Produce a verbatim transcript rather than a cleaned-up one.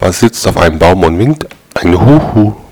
Papa sitzt auf einem Baum und winkt ein Huhu.